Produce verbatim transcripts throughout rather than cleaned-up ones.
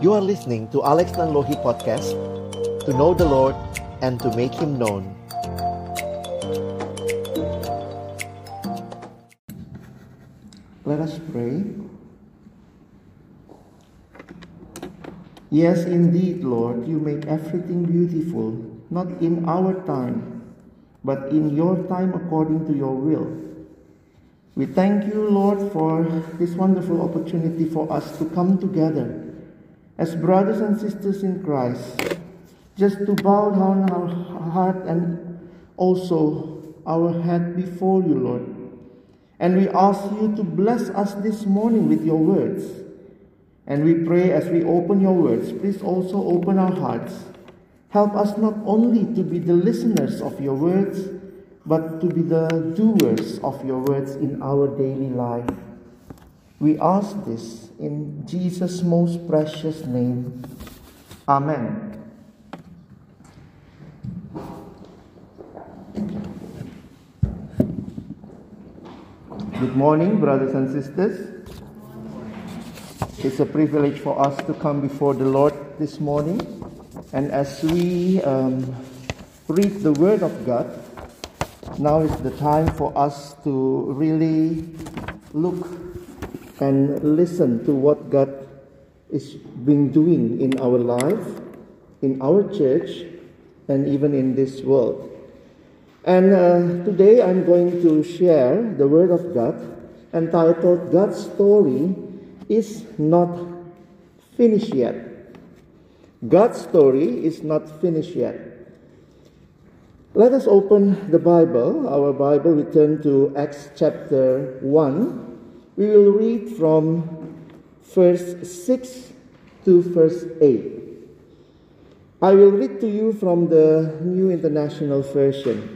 You are listening to Alex Nanlohi Podcast, to know the Lord and to make Him known. Let us pray. Yes, indeed, Lord, you make everything beautiful, not in our time, but in your time according to your will. We thank you, Lord, for this wonderful opportunity for us to come together as brothers and sisters in Christ, just to bow down our heart and also our head before you, Lord. And we ask you to bless us this morning with your words. And we pray as we open your words, please also open our hearts. Help us not only to be the listeners of your words, but to be the doers of your words in our daily life. We ask this in Jesus' most precious name. Amen. Good morning, brothers and sisters. It's a privilege for us to come before the Lord this morning. And as we um, read the Word of God, now is the time for us to really look and listen to what God is been doing in our life, in our church, and even in this world. And uh, today I'm going to share the Word of God entitled God's Story is Not Finished Yet. God's story is not finished yet. Let us open the Bible, our Bible. We turn to Acts chapter one. We will read from verse six to verse eight. I will read to you from the New International Version.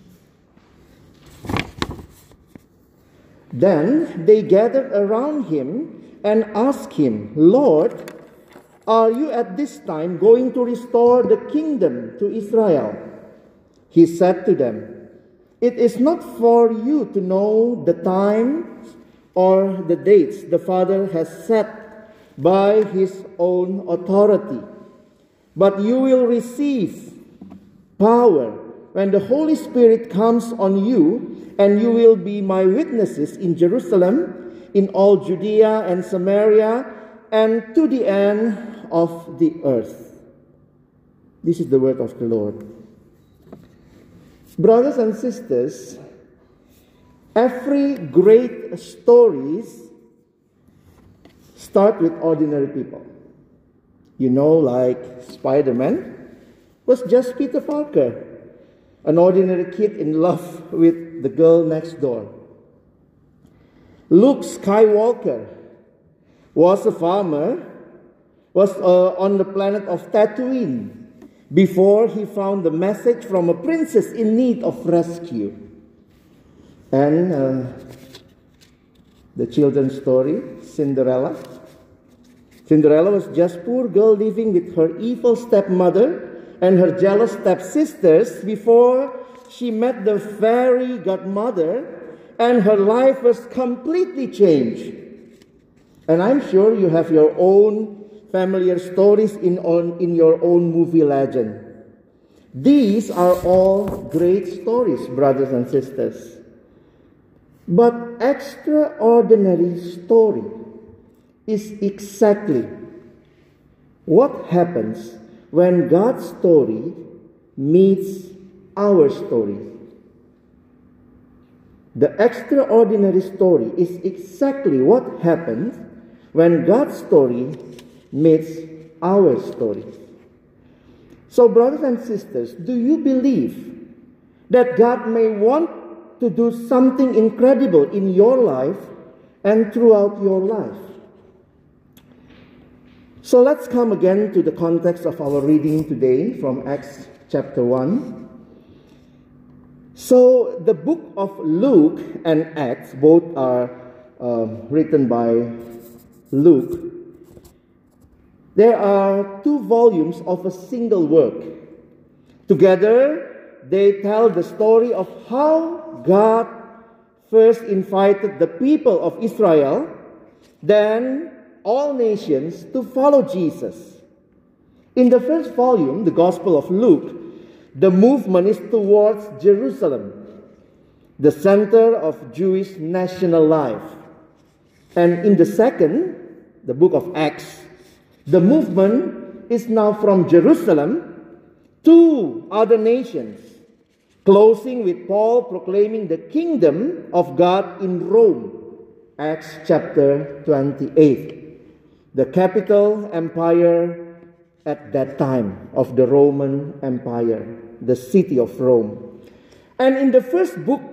Then they gathered around him and asked him, Lord, are you at this time going to restore the kingdom to Israel? He said to them, it is not for you to know the time or the dates the Father has set by his own authority, but you will receive power when the Holy Spirit comes on you, and you will be my witnesses in Jerusalem, in all Judea and Samaria, and to the end of the earth. This is the word of the Lord. Brothers and sisters, every great stories start with ordinary people. You know, like Spider-Man was just Peter Parker, an ordinary kid in love with the girl next door. Luke Skywalker was a farmer, was uh, on the planet of Tatooine before he found the message from a princess in need of rescue. And uh, the children's story, Cinderella. Cinderella was just a poor girl living with her evil stepmother and her jealous stepsisters before she met the fairy godmother, and her life was completely changed. And I'm sure you have your own familiar stories in, on, in your own movie legend. These are all great stories, brothers and sisters. But extraordinary story is exactly what happens when God's story meets our story. The extraordinary story is exactly what happens when God's story meets our story. So, brothers and sisters, do you believe that God may want to do something incredible in your life and throughout your life? So let's come again to the context of our reading today from Acts chapter one. So the book of Luke and Acts, both are uh, written by Luke. There are two volumes of a single work. Together, they tell the story of how God first invited the people of Israel, then all nations to follow Jesus. In the first volume, the Gospel of Luke, the movement is towards Jerusalem, the center of Jewish national life. And in the second, the book of Acts, the movement is now from Jerusalem to other nations, closing with Paul proclaiming the kingdom of God in Rome, Acts chapter twenty-eight, the capital empire at that time of the Roman Empire, the city of Rome. And in the first book,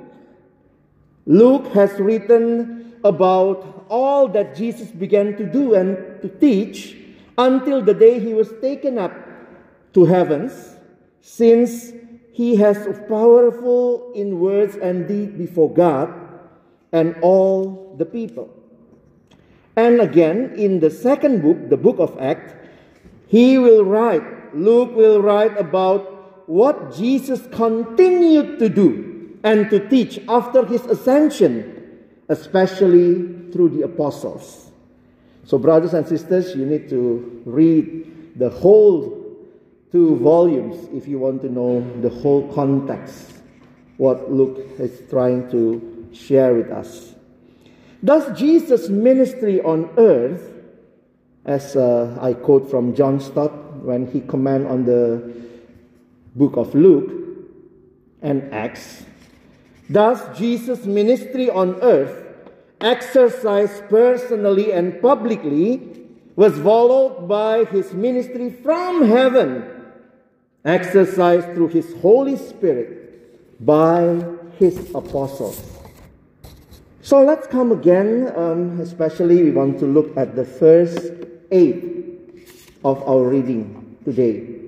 Luke has written about all that Jesus began to do and to teach until the day he was taken up to heavens, since he has powerful in words and deed before God and all the people. And again, in the second book, the book of Acts, he will write, Luke will write about what Jesus continued to do and to teach after his ascension, especially through the apostles. So brothers and sisters, you need to read the whole two volumes if you want to know the whole context, what Luke is trying to share with us. Thus, Jesus' ministry on earth, as uh, I quote from John Stott when he commented on the book of Luke and Acts, thus Jesus' ministry on earth, exercised personally and publicly, was followed by his ministry from heaven, exercised through his Holy Spirit by his apostles. So let's come again, um, especially we want to look at the first eight of our reading today.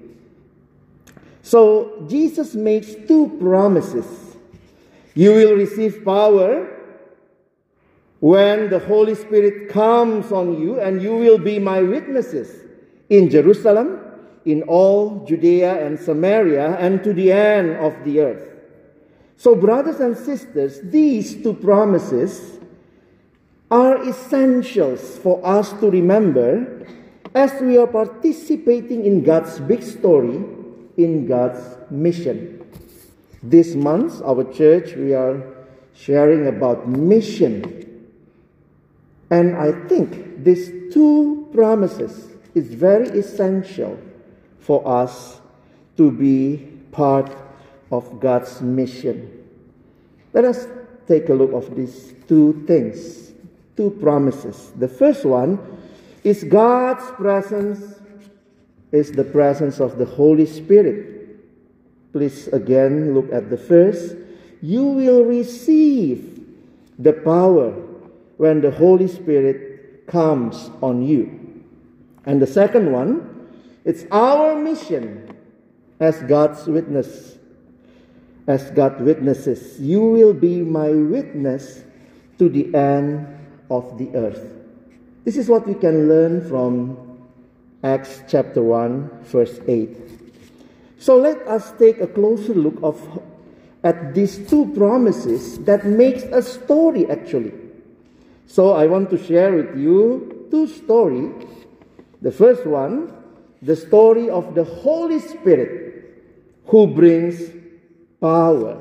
So Jesus makes two promises. You will receive power when the Holy Spirit comes on you, and you will be my witnesses in Jerusalem, in all Judea and Samaria, and to the end of the earth. So brothers and sisters, these two promises are essentials for us to remember as we are participating in God's big story, in God's mission. This month, our church, we are sharing about mission. And I think these two promises is very essential for us to be part of God's mission. Let us take a look at these two things, two promises. The first one is God's presence is the presence of the Holy Spirit. Please again look at the first. You will receive the power when the Holy Spirit comes on you. And the second one, it's our mission as God's witness. As God witnesses, you will be my witness to the end of the earth. This is what we can learn from Acts chapter one, verse eight. So let us take a closer look of, at these two promises that makes a story actually. So I want to share with you two stories. The first one, the story of the Holy Spirit who brings power.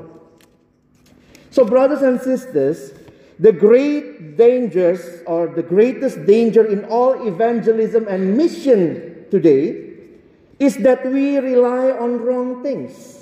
So brothers and sisters, the great dangers or the greatest danger in all evangelism and mission today is that we rely on wrong things.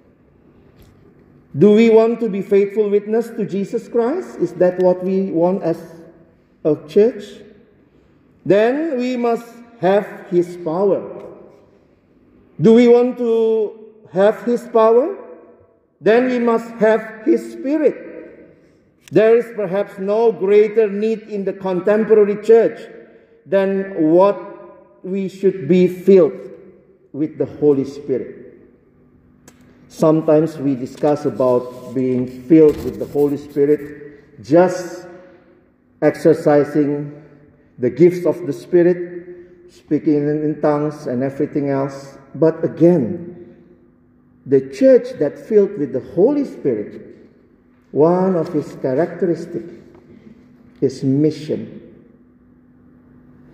Do we want to be faithful witness to Jesus Christ? Is that what we want as a church? Then we must have His power. Do we want to have His power? Then we must have His Spirit. There is perhaps no greater need in the contemporary church than what we should be filled with the Holy Spirit. Sometimes we discuss about being filled with the Holy Spirit, just exercising the gifts of the Spirit, speaking in tongues and everything else. But again, the church that filled with the Holy Spirit, one of its characteristics is mission.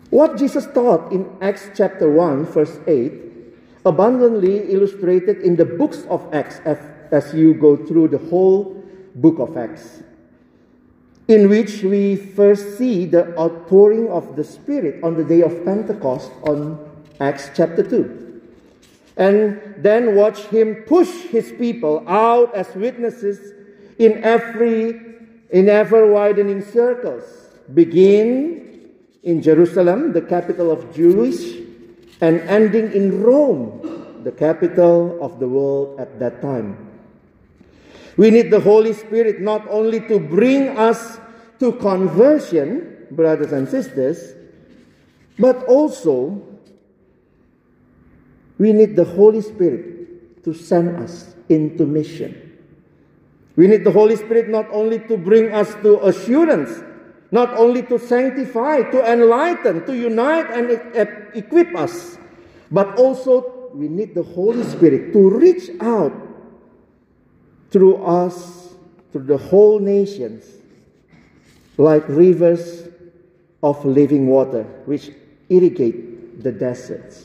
What Jesus taught in Acts chapter one, verse eight, abundantly illustrated in the books of Acts as, as you go through the whole book of Acts, in which we first see the outpouring of the Spirit on the day of Pentecost on Acts chapter two. And then watch him push his people out as witnesses in every in ever widening circles. Begin in Jerusalem, the capital of Jewish, and ending in Rome, the capital of the world at that time. We need the Holy Spirit not only to bring us to conversion, brothers and sisters, but also we need the Holy Spirit to send us into mission. We need the Holy Spirit not only to bring us to assurance, not only to sanctify, to enlighten, to unite and e- equip us, but also we need the Holy Spirit to reach out through us, through the whole nations, like rivers of living water, which irrigate the deserts.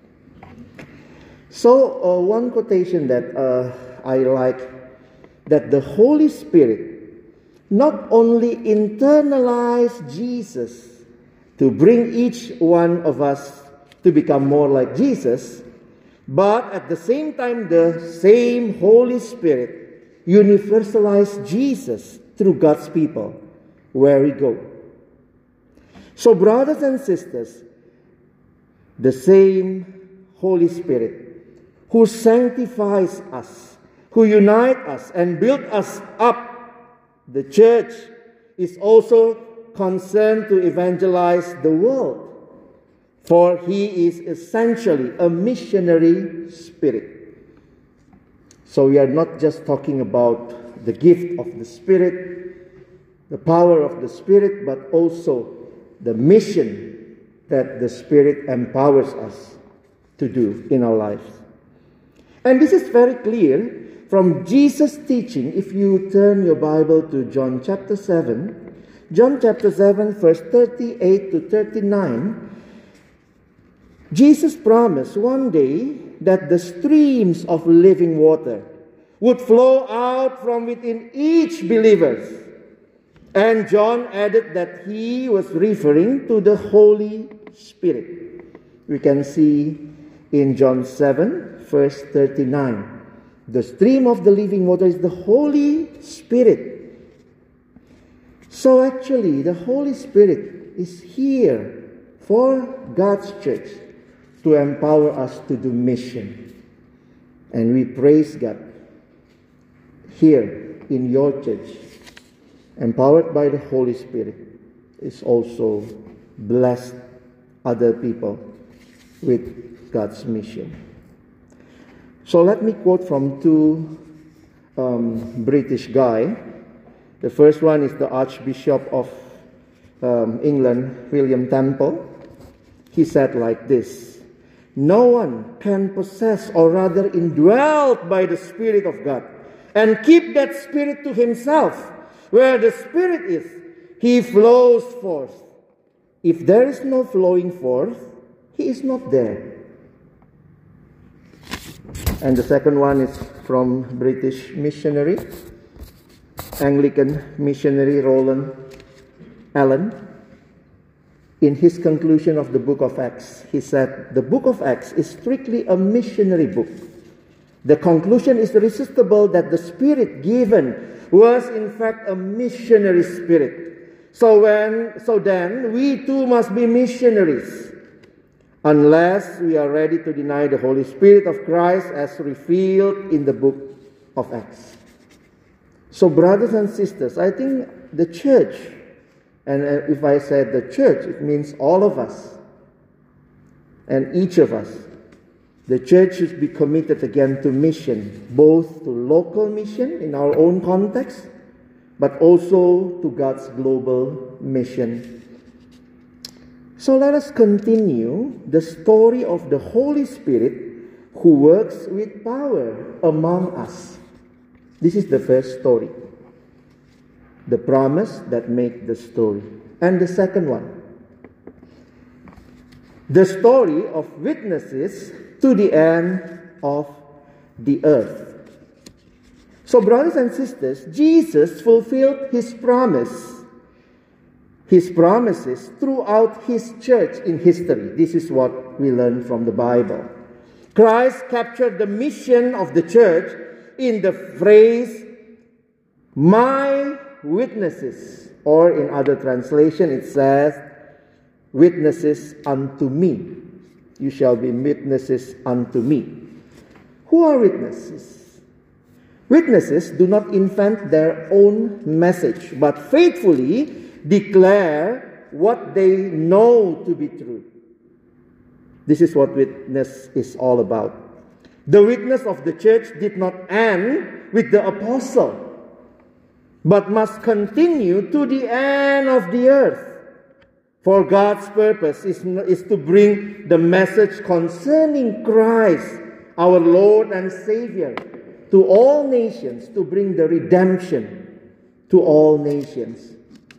So, uh, one quotation that uh, I like, that the Holy Spirit not only internalize Jesus to bring each one of us to become more like Jesus, but at the same time, the same Holy Spirit universalize Jesus through God's people where we go. So, brothers and sisters, the same Holy Spirit who sanctifies us, who unite us and build us up, the church, is also concerned to evangelize the world, for he is essentially a missionary spirit. So we are not just talking about the gift of the Spirit, the power of the Spirit, but also the mission that the Spirit empowers us to do in our lives. And this is very clear from Jesus' teaching. If you turn your Bible to John chapter seven, John chapter seven, verse thirty-eight to thirty-nine, Jesus promised one day that the streams of living water would flow out from within each believer. And John added that he was referring to the Holy Spirit. We can see in John seven, verse thirty-nine. The stream of the living water is the Holy Spirit. So actually, the Holy Spirit is here for God's church to empower us to do mission. And we praise God here in your church, empowered by the Holy Spirit, is also blessed other people with God's mission. So let me quote from two um, British guys. The first one is the Archbishop of um, England, William Temple. He said like this: "No one can possess, or rather indwelt by the Spirit of God, and keep that Spirit to himself. Where the Spirit is, he flows forth. If there is no flowing forth, he is not there." And the second one is from British missionary, Anglican missionary Roland Allen. In his conclusion of the book of Acts, he said, "The book of Acts is strictly a missionary book. The conclusion is irresistible that the Spirit given was in fact a missionary spirit. So when, so then, we too must be missionaries, unless we are ready to deny the Holy Spirit of Christ as revealed in the book of Acts." So brothers and sisters, I think the church, and if I said the church, it means all of us and each of us. The church should be committed again to mission, both to local mission in our own context, but also to God's global mission. So let us continue the story of the Holy Spirit who works with power among us. This is the first story, the promise that makes the story. And the second one, the story of witnesses to the end of the earth. So, brothers and sisters, Jesus fulfilled his promise, his promises throughout his church in history. This is what we learn from the Bible. Christ captured the mission of the church in the phrase, "my witnesses," or in other translation it says, "witnesses unto me. You shall be witnesses unto me." Who are witnesses? Witnesses do not invent their own message, but faithfully declare what they know to be true. This is what witness is all about. The witness of the church did not end with the apostle, but must continue to the end of the earth. For God's purpose is, is to bring the message concerning Christ, our Lord and Savior, to all nations, to bring the redemption to all nations.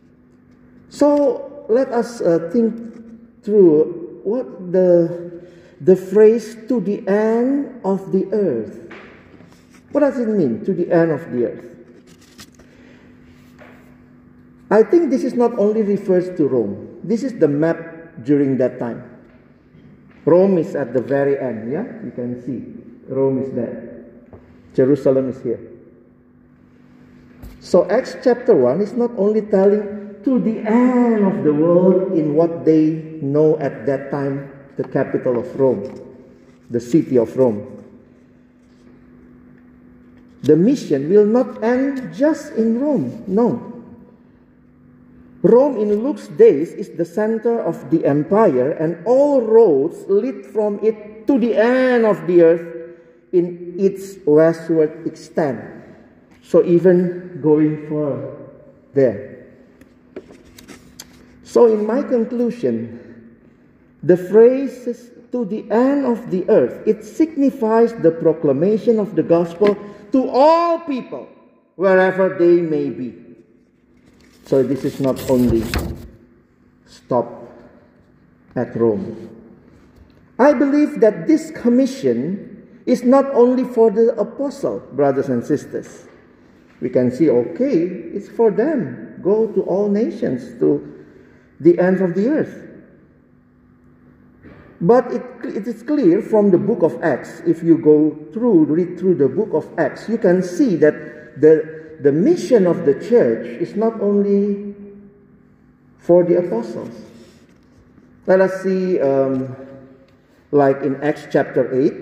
So let us uh, think through what the, the phrase "to the end of the earth." What does it mean, to the end of the earth? I think this is not only refers to Rome. This is the map during that time. Rome is at the very end, yeah? You can see. Rome is there. Jerusalem is here. So Acts chapter one is not only telling to the end of the world in what they know at that time, the capital of Rome, the city of Rome. The mission will not end just in Rome, no. Rome in Luke's days is the center of the empire, and all roads lead from it to the end of the earth in its westward extent. So even going far there. So in my conclusion, the phrase "to the end of the earth," it signifies the proclamation of the gospel to all people, wherever they may be. So this is not only stop at Rome. I believe that this commission is not only for the apostle, brothers and sisters. We can see, okay, it's for them. Go to all nations, to the ends of the earth. But it, it is clear from the book of Acts, if you go through, read through the book of Acts, you can see that the, the mission of the church is not only for the apostles. Let us see, um, like in Acts chapter eight,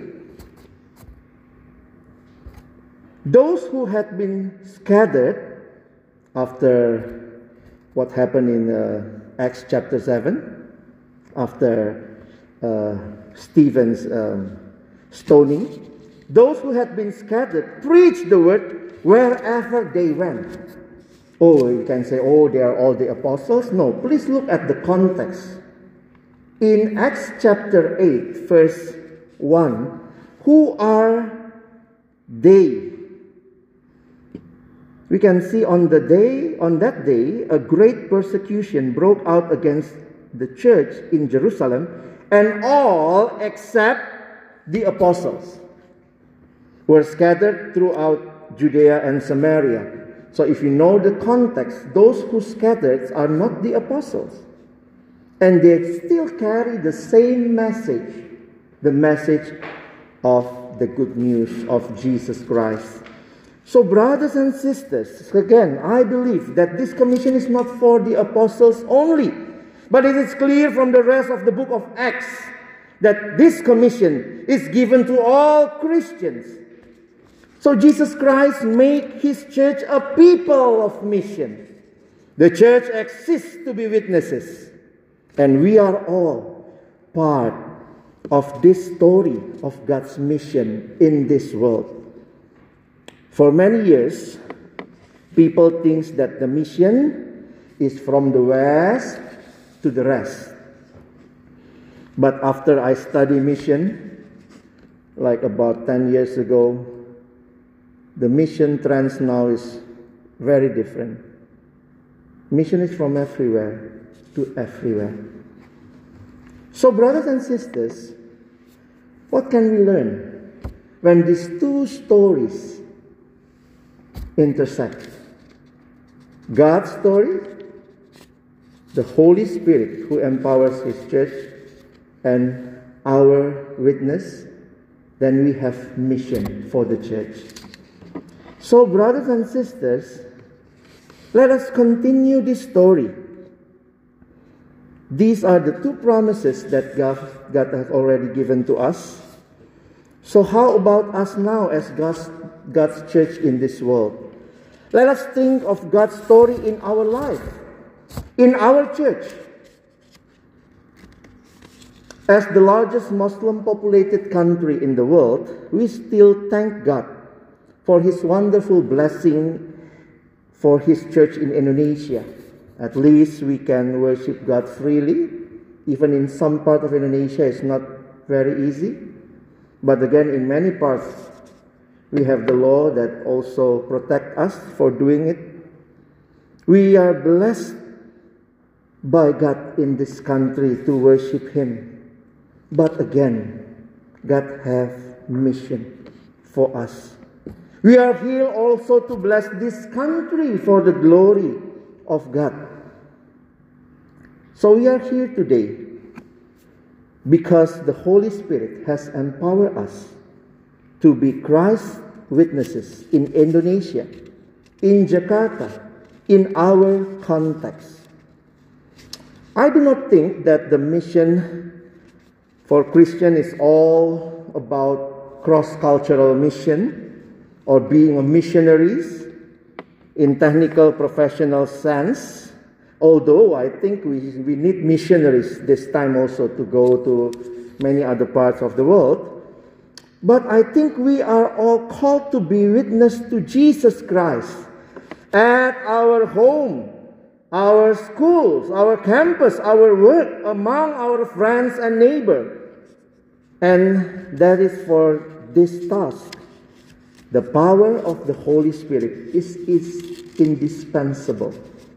those who had been scattered after what happened in uh, Acts chapter seven, after uh, Stephen's um, stoning, those who had been scattered preached the word wherever they went. Oh, you can say, oh, they are all the apostles. No, please look at the context. In Acts chapter eight, verse one, who are they? We can see on the day, on that day, a great persecution broke out against the church in Jerusalem, and all except the apostles were scattered throughout Judea and Samaria. So if you know the context, those who scattered are not the apostles. And they still carry the same message, the message of the good news of Jesus Christ. So brothers and sisters, again, I believe that this commission is not for the apostles only, but it is clear from the rest of the book of Acts that this commission is given to all Christians. So Jesus Christ made his church a people of mission. The church exists to be witnesses, and we are all part of this story of God's mission in this world. For many years, people think that the mission is from the west to the rest. But after I studied mission, like about ten years ago, the mission trends now is very different. Mission is from everywhere to everywhere. So, brothers and sisters, what can we learn when these two stories intersect? God's story, the Holy Spirit who empowers His church, and our witness, then we have mission for the church. So, brothers and sisters, let us continue this story. These are the two promises that God, God has already given to us. So how about us now as God's, God's church in this world? Let us think of God's story in our life, in our church. As the largest Muslim populated country in the world, we still thank God for His wonderful blessing for His church in Indonesia. At least we can worship God freely. Even in some part of Indonesia, it's not very easy. But again, in many parts, we have the law that also protect us for doing it. We are blessed by God in this country to worship Him. But again, God have mission for us. We are here also to bless this country for the glory of God. So we are here today because the Holy Spirit has empowered us to be Christ's witnesses in Indonesia, in Jakarta, in our context. I do not think that the mission for Christian is all about cross-cultural mission or being a missionaries in technical professional sense, although I think we, we need missionaries this time also to go to many other parts of the world. But I think we are all called to be witness to Jesus Christ at our home, our schools, our campus, our work, among our friends and neighbors. And that is for this task. The power of the Holy Spirit is, is indispensable.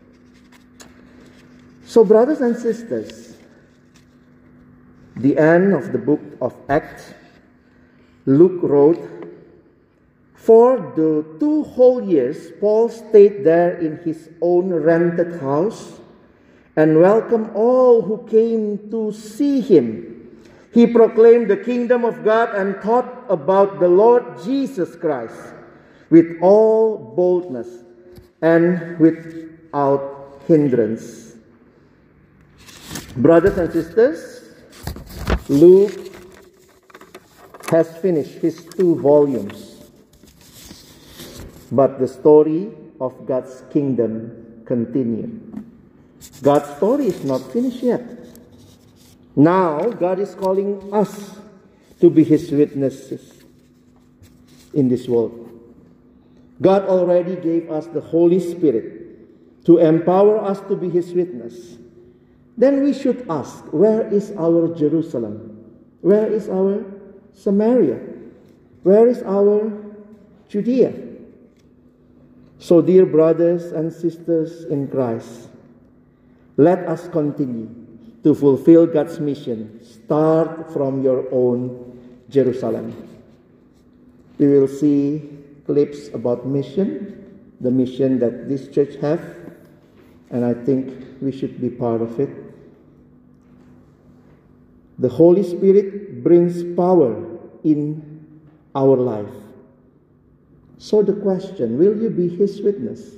So, brothers and sisters, the end of the book of Acts, Luke wrote, for the two whole years, Paul stayed there in his own rented house and welcomed all who came to see him. He proclaimed the kingdom of God and taught about the Lord Jesus Christ with all boldness and without hindrance. Brothers and sisters, Luke has finished his two volumes, but the story of God's kingdom continues. God's story is not finished yet. Now, God is calling us to be His witnesses in this world. God already gave us the Holy Spirit to empower us to be His witness. Then we should ask, where is our Jerusalem? Where is our Samaria? Where is our Judea? So, dear brothers and sisters in Christ, let us continue to fulfill God's mission. Start from your own Jerusalem. We will see clips about mission, the mission that this church has, and I think we should be part of it. The Holy Spirit brings power in our life. So the question, will you be His witness?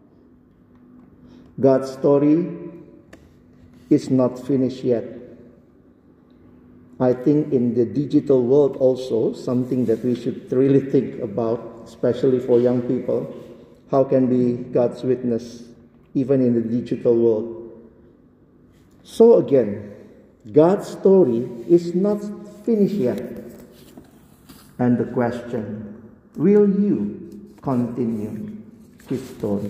God's story is not finished yet. I think in the digital world also, something that we should really think about, especially for young people, how can be God's witness even in the digital world. So again, God's story is not finished yet. And the question, will you continue His story?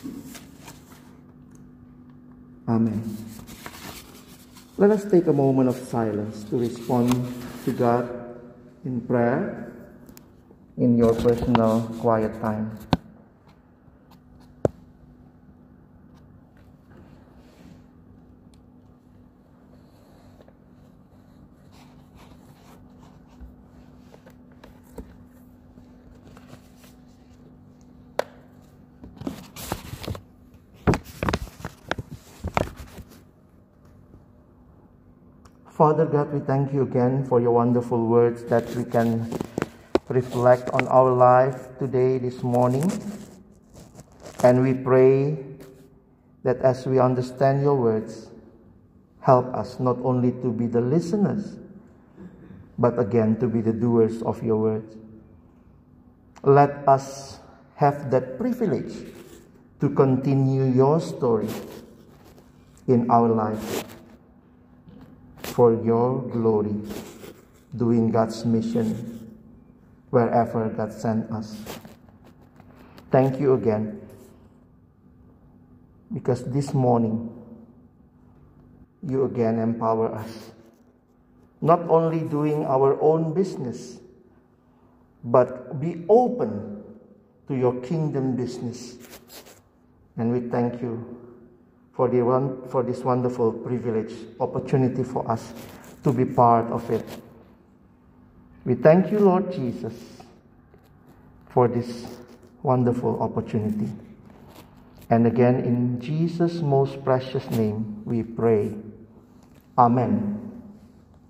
Amen. Let us take a moment of silence to respond to God in prayer in your personal quiet time. Father God, we thank you again for your wonderful words that we can reflect on our life today, this morning. And we pray that as we understand your words, help us not only to be the listeners, but again to be the doers of your words. Let us have that privilege to continue your story in our life for your glory, doing God's mission wherever God sent us. Thank you again, because this morning you again empower us, not only doing our own business, but be open to your kingdom business. And we thank you for the one, for this wonderful privilege, opportunity for us to be part of it. We thank you, Lord Jesus, for this wonderful opportunity. And again, in Jesus' most precious name, we pray. Amen.